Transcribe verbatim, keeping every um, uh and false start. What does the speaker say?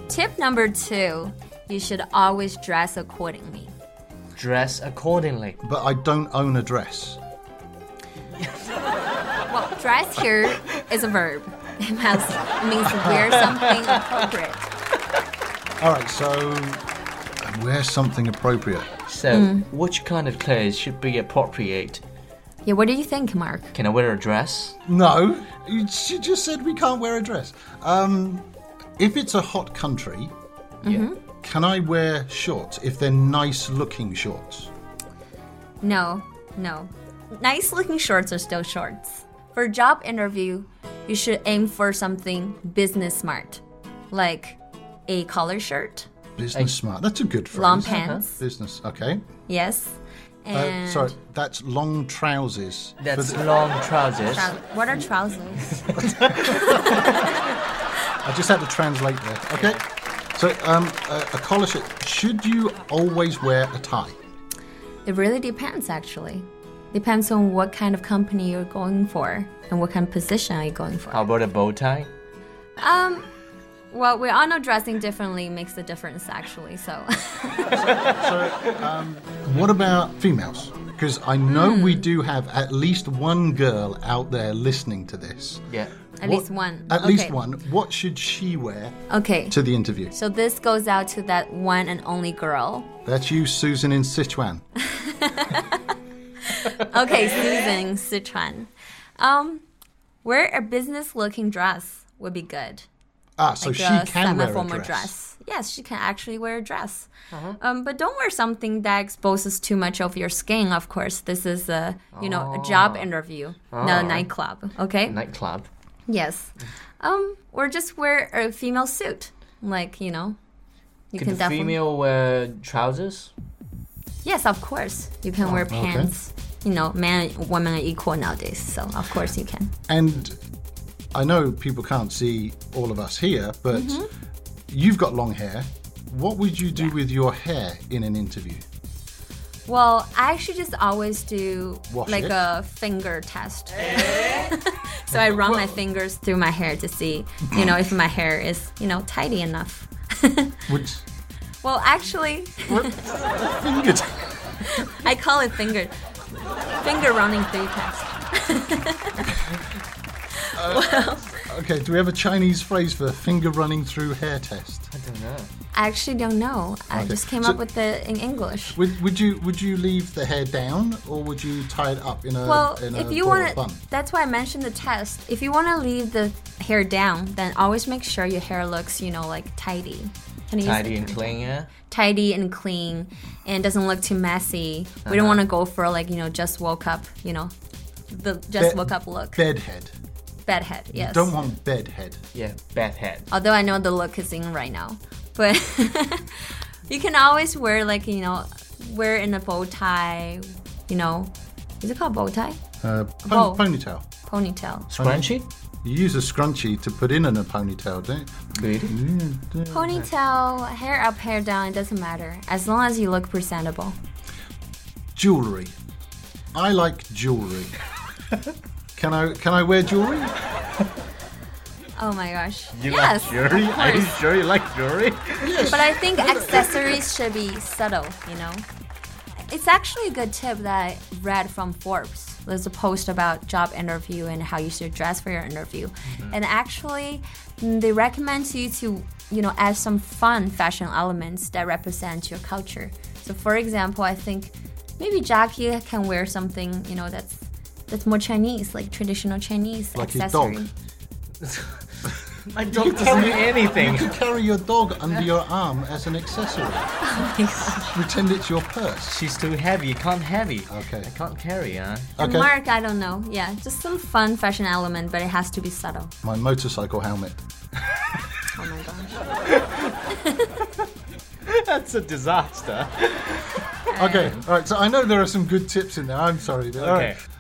Tip number two, you should always dress accordingly. Dress accordingly. But I don't own a dress. Well, dress here is a verb. It, has, it means to wear something appropriate. All right, so wear something appropriate. So, mm. which kind of clothes should be appropriate? Yeah, what do you think, Mark? Can I wear a dress? No, she just said we can't wear a dress. Um, if it's a hot country, mm-hmm. can I wear shorts if they're nice-looking shorts? No, no. Nice-looking shorts are still shorts. For a job interview, you should aim for something business smart, like a collar shirt. Business smart. That's a good phrase. Long pants. Uh-huh. Business. Okay. Yes. And uh, sorry, that's long trousers. That's the... long trousers. Trou- what are trousers? I just had to translate there. Okay. So, um, a, a collar shirt. Should you always wear a tie? It really depends, actually. Depends on what kind of company you're going for and what kind of position are you going for. How about a bow tie? Um, well, we all know dressing differently makes a difference, actually, so... so, um, what about females? Because I know mm. we do have at least one girl out there listening to this. Yeah. At what, least one. At okay. least one. What should she wear okay. to the interview? So this goes out to that one and only girl. That's you, Susan, in Sichuan. Okay, Susan, Sichuan. Um, wear a business-looking dress would be good. Ah, so like she a can wear a semi-formal dress. dress. Yes, she can actually wear a dress. Uh-huh. Um, but don't wear something that exposes too much of your skin. Of course, this is a you know oh. a job interview, oh. not a nightclub. Okay. Nightclub. Yes. Um, or just wear a female suit, like you know. You Could can the definitely. female wear trousers? Yes, of course. You can oh, wear pants. Okay. You know, man and women are equal nowadays, so of course you can. And I know people can't see all of us here, but mm-hmm. you've got long hair. What would you do yeah. with your hair in an interview? Well, I actually just always do Wash like it. a finger test. So I run my fingers through my hair to see, you know, if my hair is, you know, tidy enough. Would Well, actually, finger t- I call it finger finger running through test. uh, well, okay, do we have a Chinese phrase for finger running through hair test? I don't know. I actually don't know. I Okay. just came So- up with it in English. Would, would you would you leave the hair down or would you tie it up in a Well, in if a you ball want of to, bun? that's why I mentioned the test. If you want to leave the hair down, then always make sure your hair looks, you know, like tidy. Can you use Tidy the and term? clean, yeah? Tidy and clean, and doesn't look too messy. We don't Uh-huh. want to go for like, you know, just woke up, you know, the just Be- woke up look. Bedhead. Bedhead, yes. Don't want bedhead. Yeah, bad head. Although I know the look is in right now, but you can always wear like, you know, wear in a bow tie, you know, is it called bow tie? Uh, Bow. pon- ponytail. Ponytail. Scrunchy? You use a scrunchie to put in, in a ponytail, don't you? Good. Ponytail, hair up, hair down, it doesn't matter. As long as you look presentable. Jewelry. I like jewelry. Can I can I wear jewelry? Oh my gosh. You yes, like jewelry? of Are you course. sure you like jewelry? But I think accessories should be subtle, you know? It's actually a good tip that I read from Forbes. There's a post about job interview and how you should dress for your interview. Mm-hmm. And actually, they recommend you to, you know, add some fun fashion elements that represent your culture. So for example, I think maybe Jackie can wear something, you know, that's that's more Chinese, like traditional Chinese Like his accessory. dog. My dog doesn't do anything. You could carry your dog under your arm as an accessory. Oh my gosh. Pretend it's your purse. She's too heavy. You can't heavy. Okay. I can't carry, huh? And Okay. Mark, I don't know. Yeah, just some fun fashion element, but it has to be subtle. My motorcycle helmet. Oh my gosh. That's a disaster. Okay, all right. So I know there are some good tips in there. I'm sorry. But all Okay. right.